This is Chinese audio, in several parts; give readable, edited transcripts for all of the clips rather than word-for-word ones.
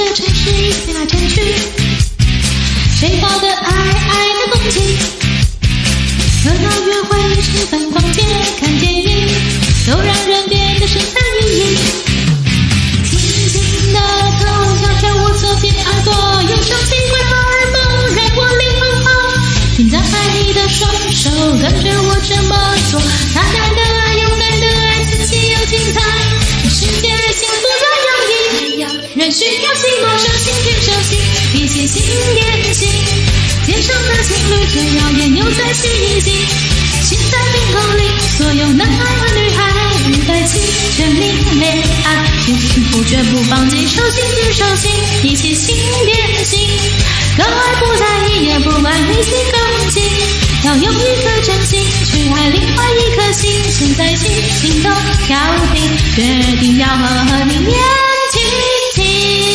個城市飛來飛去，誰抱的愛的風景，熱鬧約會興奮逛街看電影，都讓人變得神采奕奕。輕輕的頭搖跳我左邊耳朵，有種奇怪荷爾蒙讓我靈魂跑，請張開你的雙手跟着我這麼做，大膽的愛勇敢的愛自己又精彩，全世界幸福在洋溢，人需要寂寞手心牽手心，一起心連心，街上的情侶最耀眼又再續一季，心在冰口裡，所有男孩和女孩預備起全民戀愛，幸福絕不放棄，手心牽手心，一起心連心，各愛不在意也不管你幾公斤，要用一顆真心去愛另外一顆心，現在起心動調頻，決定要和你年輕輕。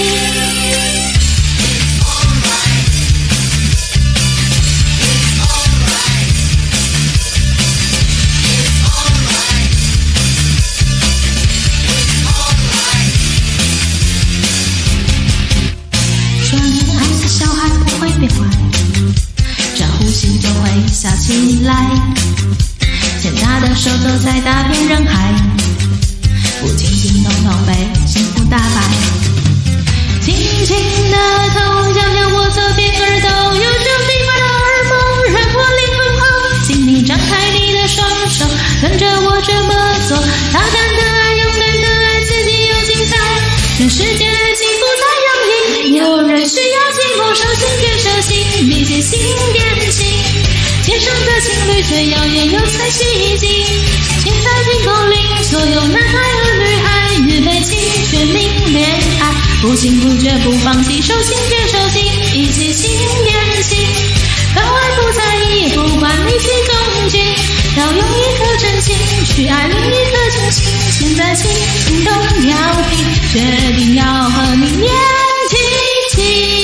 笑起來，牽他的手走在大片人海，不驚驚動動被幸福打敗，輕輕的頭搖搖我左邊耳朵，有種奇怪的荷爾蒙讓我靈魂跑，請你張開你的雙手跟着我這麼做，大膽的愛勇敢的愛自己又精彩，全世界幸福在洋溢，有人需要寂寞手心牽手心，一起心連心，街上的情侶最耀眼又才續一季，現在冰口裡，所有男孩和女孩預備起全民戀愛，不情不覺不放棄，手心牽手心，一起心連心，高愛不在意也不管你幾公斤，要用一顆真心去愛另一顆真心，現在起心動調頻，決定要和你年輕輕。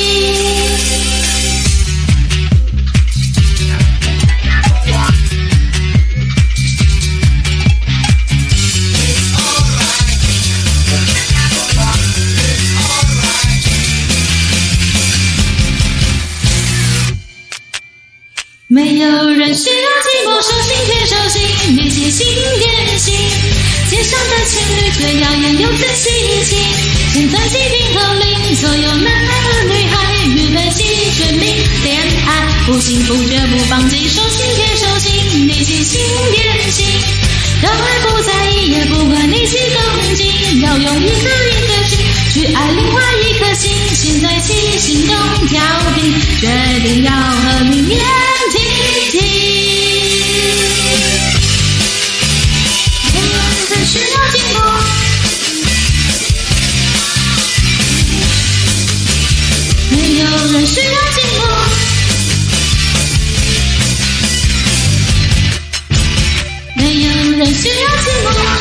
没有人需要寂寞，手心牽手心，一起心連心，街上的情侶最耀眼又仔細一起，現在起冰口令，所有男孩和女孩預備起全民戀愛，不幸福絕不放棄，手心牽手心，一起心連心，高愛不在意也不管你幾公斤，要用一顆心去愛另外一顆心，現在起心動調頻，決定要和你年輕輕。沒有人需要寂寞，沒有人需要寂寞，沒有人需要寂寞。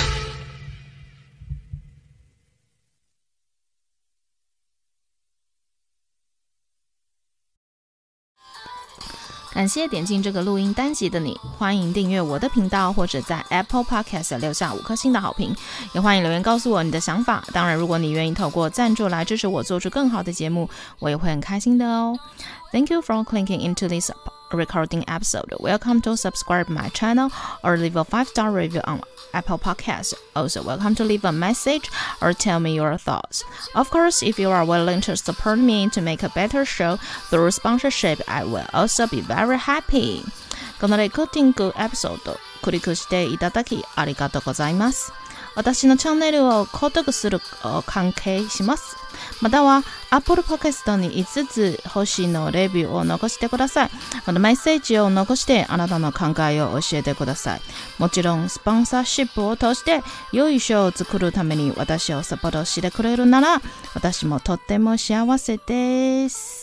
感謝點進這個錄音單集的你，歡迎訂閱我的頻道，或者在 Apple Podcast 留下5顆星的好評，也歡迎留言告訴我你的想法。當然，如果你願意透過贊助來支持我做出更好的節目，我也會很開心的哦。Thank you for clicking into this recording episode. Welcome to subscribe my channel or leave a 5-star review on Apple Podcasts. Also, welcome to leave a message or tell me your thoughts. Of course, if you are willing to support me to make a better show through sponsorship, I will also be very happy. このレコーディングエピソード、クリックしていただきありがとうございます。私のチャンネルを購読する関係します。または Apple Podcast に5つ星のレビューを残してください。またメッセージを残してあなたの考えを教えてください。もちろんスポンサーシップを通して良いショーを作るために私をサポートしてくれるなら私もとっても幸せです。